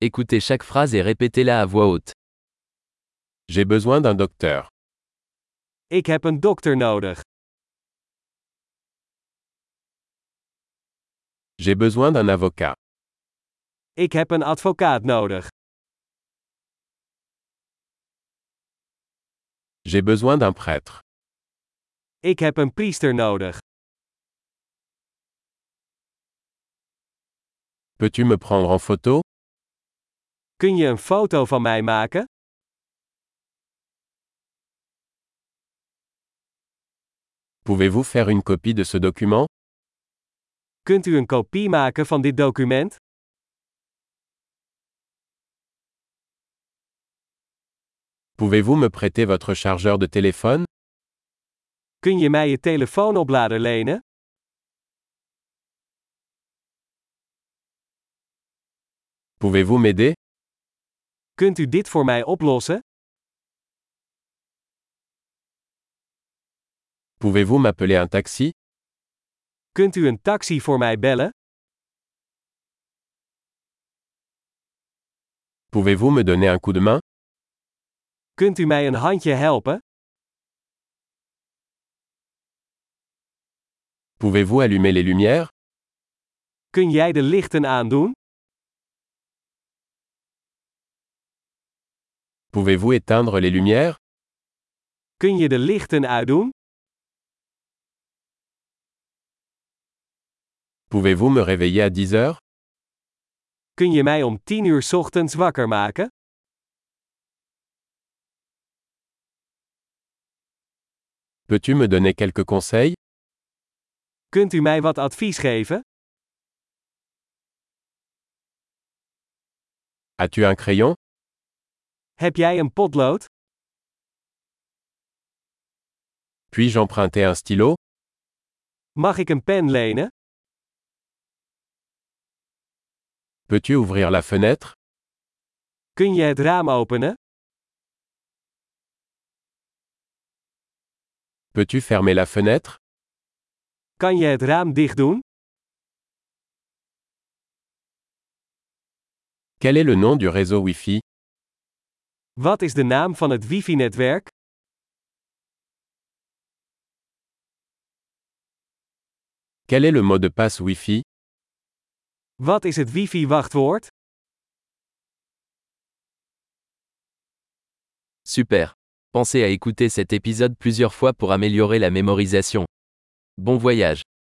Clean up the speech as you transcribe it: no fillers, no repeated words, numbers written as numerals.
Écoutez chaque phrase et répétez-la à voix haute. J'ai besoin d'un docteur. Ik heb een dokter nodig. J'ai besoin d'un avocat. Ik heb een advocaat nodig. J'ai besoin d'un prêtre. Ik heb een priester nodig. Peux-tu me prendre en photo? Kun je een foto van mij maken? Pouvez-vous faire une copie de ce document? Kunt u een kopie maken van dit document? Pouvez-vous me prêter votre chargeur de téléphone? Kun je mij je telefoonoplader lenen? Pouvez-vous m'aider? Kunt u dit voor mij oplossen? Pouvez-vous m'appeler un taxi? Kunt u een taxi voor mij bellen? Pouvez-vous me donner un coup de main? Kunt u mij een handje helpen? Pouvez-vous allumer les lumières? Kun jij de lichten aandoen? Pouvez-vous éteindre les lumières? Kun je de lichten uitdoen? Pouvez-vous me réveiller à 10 heures? Kun je mij om 10 uur 's ochtends wakker maken? Peux-tu me donner quelques conseils? Kunt u mij wat advies geven? As-tu un crayon? Heb jij een potlood? Puis-je emprunter un stylo? Mag ik een pen lenen? Peux-tu ouvrir la fenêtre? Kun je het raam openen? Peux-tu fermer la fenêtre? Kan je het raam dicht doen? Quel est le nom du réseau Wi-Fi? Wat is de naam van het wifi-netwerk? Quel est le mot de passe Wi-Fi? Wat is het wifi-wachtwoord? Super. Pensez à écouter cet épisode plusieurs fois pour améliorer la mémorisation. Bon voyage.